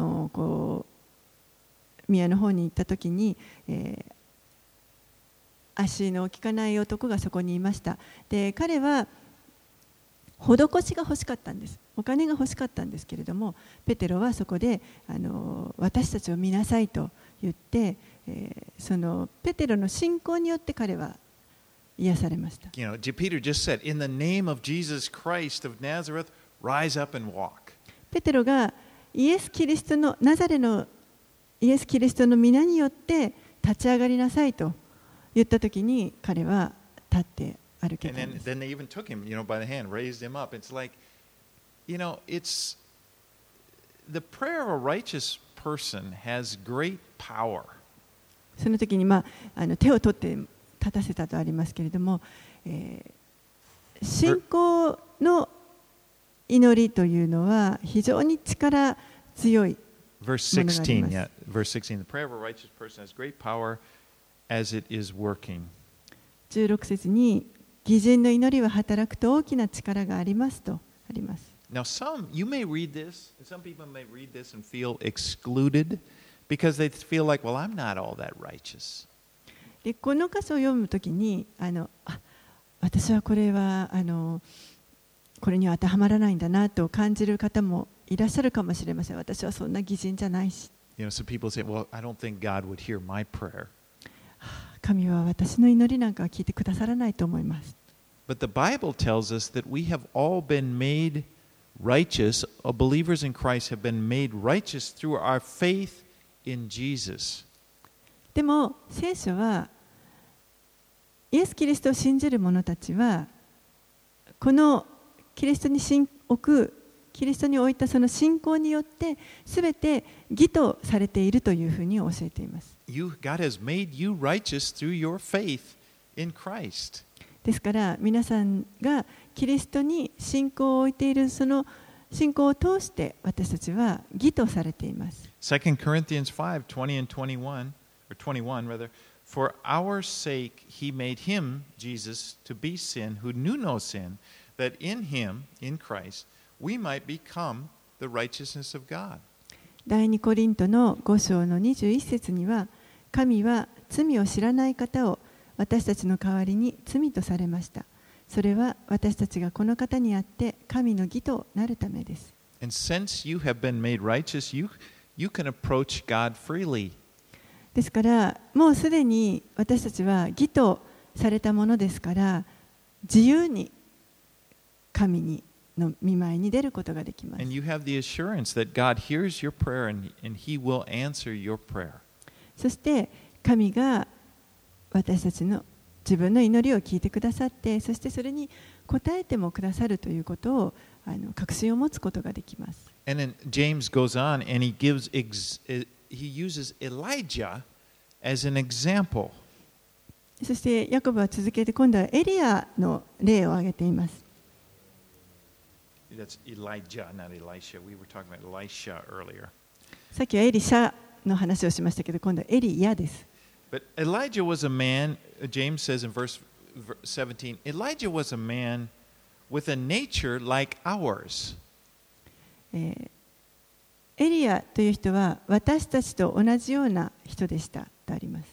宮の方に行った時に、足の利かない男がそこにいました。で、彼は施しが欲しかったんです。お金が欲しかったんですけれども、ペテロはそこで私たちを見なさいと言って、そのペテロの信仰によって彼は癒されました。 You know, Peter just said, "In the name of Jesus Christ of Nazareth, rise up and walk." ペテロがナザレのイエス・キリストの皆によって立ち上がりなさいと言ったときに彼は立って歩けたんです。 And then they even took him, you know, by the hand, raised him up. It's like, you know, it's the prayer of a righteous person has great power. その時に手を取って立たせたとありますけれども、信仰の祈りというのは非常に力強い Verse 16, ものがあります。 yeah, verse 16. The prayer of a righteous person has great power as it is working. 16節に義人の祈りは働くと大きな力がありますとあります。 Now, you may read this, and some people may read this and feel excluded because they feel like, well, I'm not all that righteous. でこの箇所を読むときに私はこれはこれには当てはまらないんだなと感じる方もいらっしゃるかもしれません。私はそんな義人じゃないし。 Some people say, well, I don't think God would hear my prayer. 神は私の祈りなんかは聞いてくださらないと思います。 But the Bible tells us that we have all been made righteous, believers in Christ have been made righteous through our faith in Jesus. でも聖書はイエス・キリストを信じる者たちはこのキリストにキリストに置いたその信仰によってすべて義とされているというふうに教えています。 God has made you righteous through your faith in Christ. ですから皆さんがキリストに信仰を置いているその信仰を通して私たちは義とされています。 2 Corinthians 5:20 and 21, or 21 rather, for our sake he made him, Jesus, to be sin who knew no sin, that in him, in Christ, we might become the righteousness of God. 第2コリントの5章の21節には神は罪を知らない方を私たちの代わりに罪とされました。それは私たちがこの方にあって神の義となるためです。 And since you have been made righteous, you can approach God freely. ですからもうすでに私たちは義とされたものですから自由に神の御前に出ることができます。 And you have the assurance that God hears your prayer and he will answer your prayer. そして神が私たちの自分の祈りを聞いてくださって、そしてそれに応えてもくださるということを確信を持つことができます。 And then James goes on and he uses Elijah as an example. そしてヤコブは続けて今度はエリアの例を挙げています。 That's Elijah, not Elisha. We were talking about Elisha earlier. さっきはエリシャの話をしましたけど、今度はエリヤです。 But Elijah was a man, James says in verse 17, Elijah was a man with a nature like ours. エリヤという人は私たちと同じような人でしたとあります。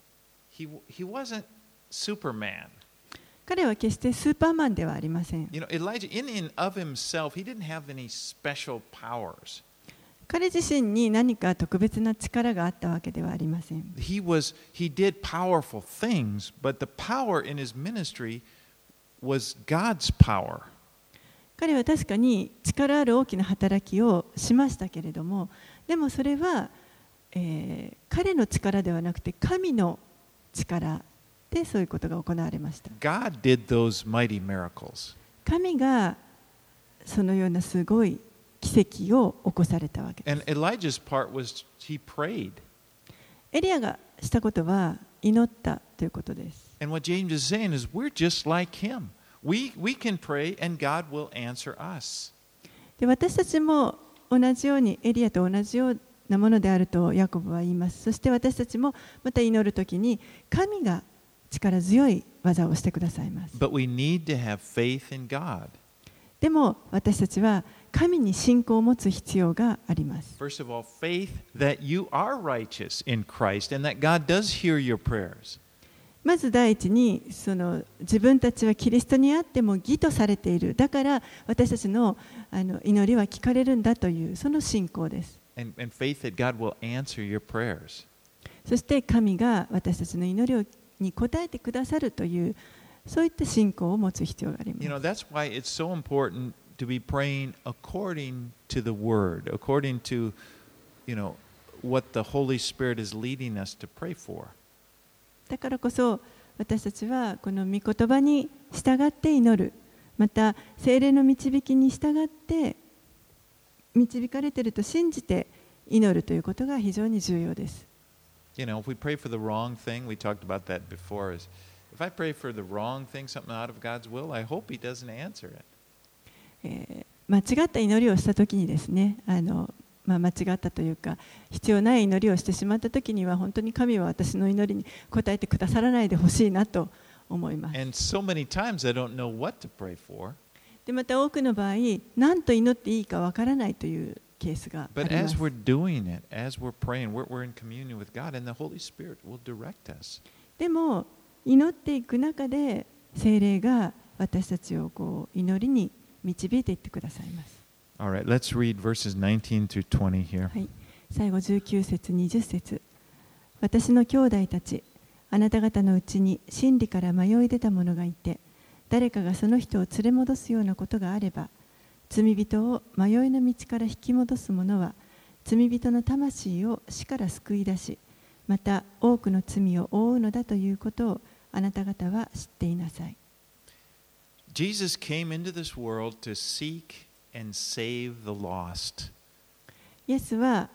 He wasn't Superman. 彼は決してスーパーマンではありません。 Elijah, in and of himself, he didn't have any special powers. 彼自身に何か特別な力があったわけではありません。 He did powerful things, but the power in his ministry was God's power. 彼は確かに力ある大きな働きをしましたけれども、でもそれは、彼の力ではなくて神の力でそういうことが行われました。 God did those mighty miracles. 神がそのようなすごい奇跡を起こされたわけです。 And Elijah's part was he prayed. エリアがしたことは祈ったということです。 And what James is saying is we're just like him. We can pray and God will answer us. で私たちも同じようにエリアと同じようなものであるとヤコブは言います。そして私たちもまた祈るときに神が力強い技をしてくださいます。 But we need to have faith in God. でも私たちは神に信仰を持つ必要があります。 First of all, faith that you are righteous in Christ and that God does hear your prayers. まず第一に自分たちはキリストにあっても義とされている。だから私たちの祈りは聞かれるんだというその信仰です。 And faith that God will answer your prayers. そして神が私たちの祈りに応えてくださるというそういった信仰を持つ必要があります。 That's why it's so important to be praying according to the Word, according to, what the Holy Spirit is leading us to pray for. だからこそ私たちはこの御言葉に従って祈る、また聖霊の導きに従って導かれていると信じて祈るということが非常に重要です。 If we pray for the wrong thing, we talked about that before, is if I pray for the wrong thing, something out of God's will, I hope He doesn't answer it. 間違った祈りをしたときにですね、 間違ったというか必要ない祈りをしてしまったときには本当に神は私の祈りに応えてくださらないでほしいなと思います。 And so many times I don't know what to pray for. でまた多くの場合何と祈っていいかわからないというケースがあ But りま as す。 we're doing it, as we're praying, we're in communion with God, and the Holy Spirit will direct us. でも祈っていく中で聖霊が私たちをこう祈りに導いていってくださいます。 All right, let's read verses 19 through 20 here. はい、最後19節20節。私の兄弟たち、あなた方のうちに真理から迷い出た者がいて、誰かがその人を連れ戻すようなことがあれば、罪人を迷いの道から引き戻す者は、罪人の魂を死から救い出し、また多くの罪を負うのだということをあなた方は知っていなさい。 Jesus came into this world to seek and save the lost. イエスは、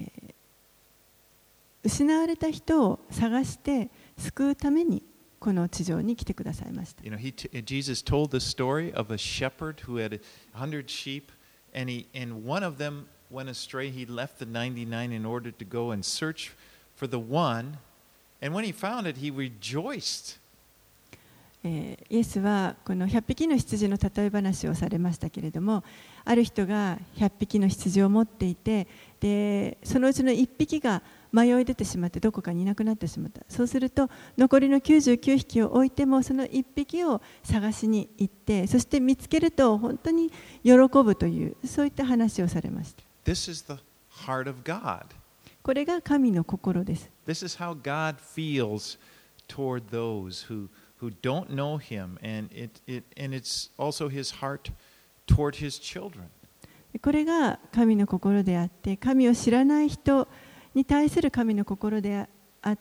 失われた人を探して救うためにこの地上に来てくださいました。 You know, Jesus told the story of a shepherd who had 100 sheep, and one of them went astray. He left the 99 in order to go and search for the one, and when he found it, he rejoiced. イエスはこの100匹の羊の例え話をされましたけれども、ある人が100匹の羊を持っていて、でそのうちの1匹が迷い出てしまってどこかにいなくなってしまった。そうすると残りの99匹を置いてもその1匹を探しに行って、そして見つけると本当に喜ぶという、そういった話をされました。 This is the heart of God. これが神の心です。 This is how God feels toward those who don't know Him, and it's also His heart toward His children. これが神の心であって、神を知らない人に対する神の心であって、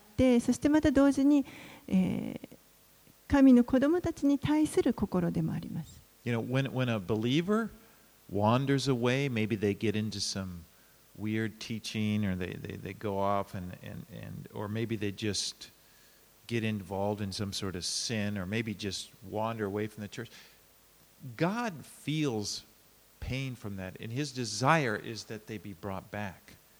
そしてまた同時に、神の子供たちに対する心でもあります。 You know, when a believer wanders away, maybe they get into some weird teaching, or they go off or maybe they just get involved in some sort of sin, or maybe just wander away from the church. God feels pain from that, and His desire is that they be brought back.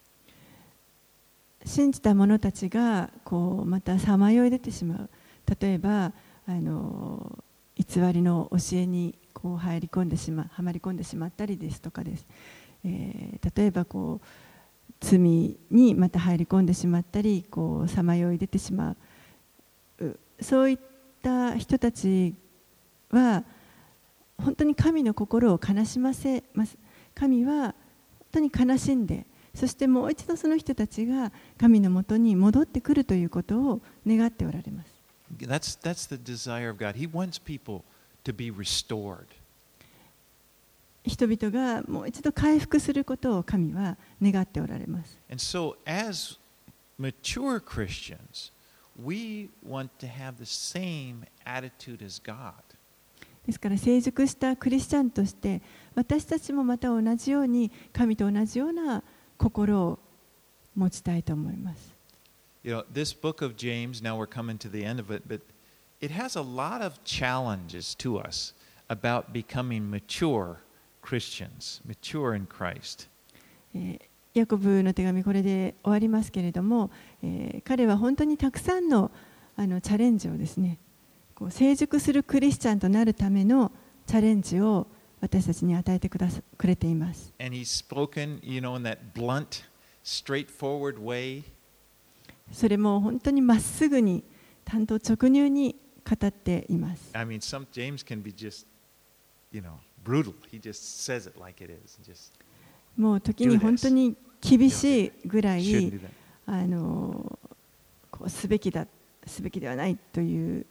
信じた者たちがこうまたさまよい出てしまう。例えば偽りの教えにこうはまり込んでしまったりですとかです。例えばこう罪にまた入り込んでしまったり、こうさまよい出てしまう。そういった人たちは本当に神の心を悲しませます。神は本当に悲しんで、そしてもう一度その人たちが神のもとに戻ってくるということを願っておられます。 That's the desire of God. He wants people to be restored. 人々がもう一度回復することを神は願っておられます。 And so, as mature Christians, we want to have the same attitude as God. ですから成熟したクリスチャンとして私たちもまた同じように神と同じような心を持ちたいと思います。 You know, this book of James, now we're coming to the end of it, but it has a lot of challenges to us about becoming mature Christians, mature in Christ. ヤコブの手紙これで終わりますけれども、彼は本当にたくさんのチャレンジをですね、こう成熟するクリスチャンとなるためのチャレンジを私たちに与えてくれています。 And he's spoken, you know, in that blunt, straightforward way. それも本当にまっすぐに、単刀直入に語っています。 I mean, James can be just, you know, brutal. He just says it like it is. Just もう時に本当に厳しいぐらい shouldn't do that. こうすべきではないという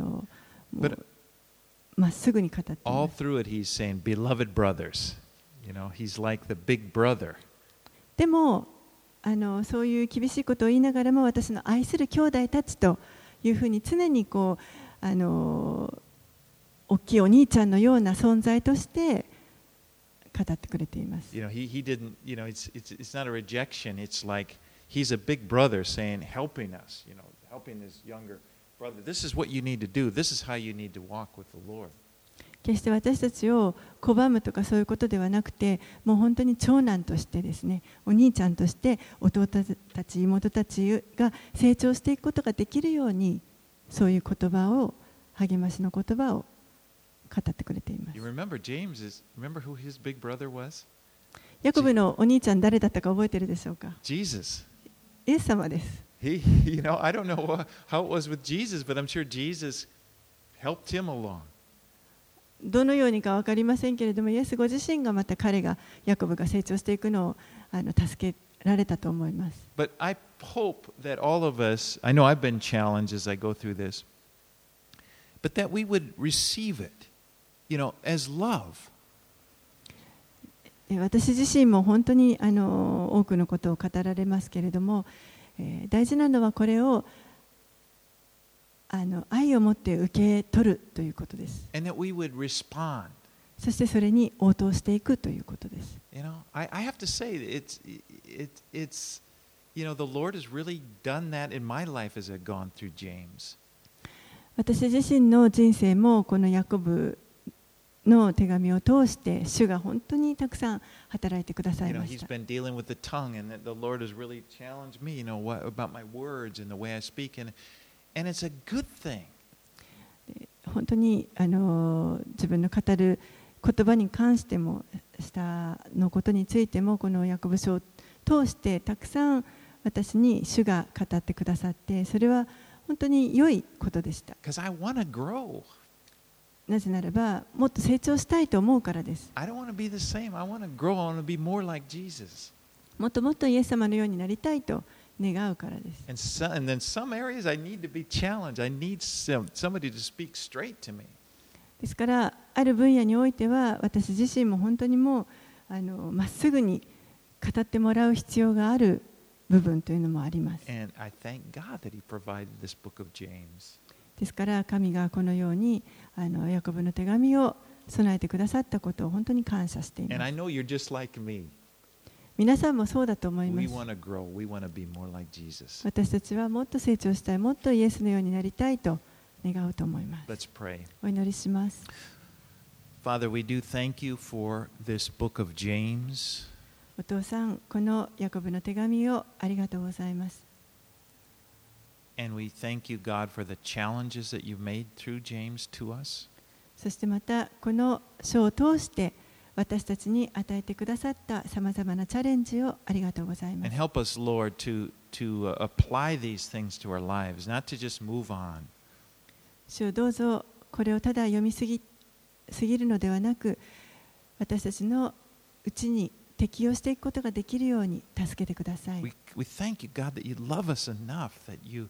まっすぐに語ってい all ます。 through it, he's saying, "Beloved brothers," you know, he's like the big brother. でもそういう厳しいことを言いながらも、私の愛する兄弟たちというふうに常にこう大きいお兄ちゃんのような存在として語ってくれています。 You know, he didn't, you know, it's not a rejection. It's like he's a big brother saying, helping us, you know, helping his younger brother. This is what you need to do. This is how you need to walk with the Lord. 決して私たちを拒むとかそういうことではなくて、もう本当に長男としてですね、お兄ちゃんとして弟たち妹たちが成長していくことができるように、そういう言葉を、励ましの言葉を語ってくれています。ヤコブのお兄ちゃん誰だったか覚えているでしょうか。 Jesus。 イエス様です。 I don't know how it was with Jesus, but I'm sure Jesus helped him along. どのようにか分かりませんけれども、イエスご自身がまた彼がヤコブが成長していくのを助けられたと思います。 But I hope that all of us, I know I've been challenged as I go through this, but that we would receive it, as love. 私自身も本当に多くのことを語られますけれども、大事なのはこれを愛を持って受け取るということです。 And that we would respond. そしてそれに応答していくということです。 I have to say, it's the Lord has really done that in my life as I've gone through James. 私自身の人生もこのヤコブの手紙を通して主が本当にたくさん働いてくださいました。 He's been dealing with the tongue, and the Lord has really challenged me, about my words and the way I speak, and it's a good thing. 本当に自分の語る言葉に関しても、舌のことについても、このヤコブ書を通してたくさん私に主が語ってくださって、それは本当に良いことでした。 Because I want to grow. なぜならば、もっと成長したいと思うからです。 I don't want to be the same. I want to grow. I want to be more like Jesus. もっともっとイエス様のようになりたいと願うからです。 And then some areas I need to be challenged. I need somebody to speak straight to me. ですから、ある分野においては、私自身も本当にもうまっすぐに語ってもらう必要がある部分というのもあります。 And I thank God that He provided this book of James. ですから、神がこのようにヤコブの手紙を備えてくださったことを本当に感謝しています。 And I know you're just like me. 皆さんもそうだと思いま We す。 want to grow. We want to be more like Jesus. 私たちはもっと成長したい、もっとイエスのようになりたいと願うと思います。 Let's pray. お祈りします。 Father, we do thank you for this book of James. お父さん、このヤコブの手紙をありがとうございます。 And we thank you, God, for the challenges that you've made through James to us. そしてまたこの書を通して私たちに与えてくださったさまざまなチャレンジをありがとうございま And す。 help us, Lord, to apply these things to our lives, not to just move on. 主よ、どうぞこれをただ読みすぎるのではなく、私たちのうちに適用していくことができるように助けてください。 We thank you, God, that you love us enough, that you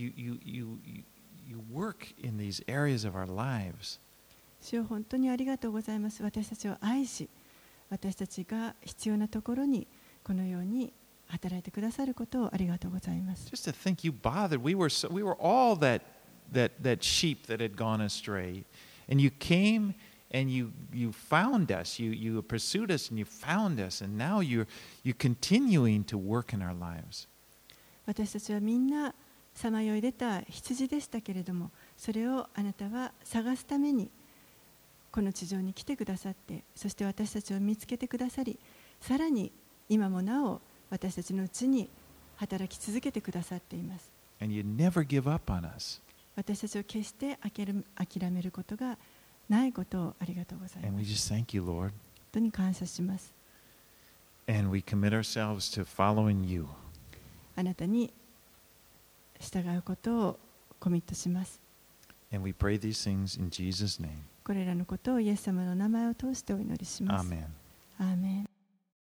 work in these areas of our lives. 主よ、本当にありがとうございます。私たちを愛し、私たちが必要なところにこのように働いてくださることをありがとうございます。 Just to think you bothered. We were all that sheep that had gone astray. And you came and you found us. You pursued us and you found us. And now you're continuing to work in our lives. 私たちはみんなさまよい出た羊でしたけれども、それをあなたは探すためにこの地上に来てくださって、そして私たちを見つけてくださり、さらに今もなお私たちのうちに働き続けてくださっています。 And you never give up on us. 私たちを決して諦めることがないことをありがとうござい And ま we す。 just thank you, Lord. 本当に感謝します。 And we commit ourselves to following you. あなたに従うことをコミットします。 And we pray these things in Jesus' name. これらのことをイエス様の名前を通してお祈りします。 Amen. アーメン。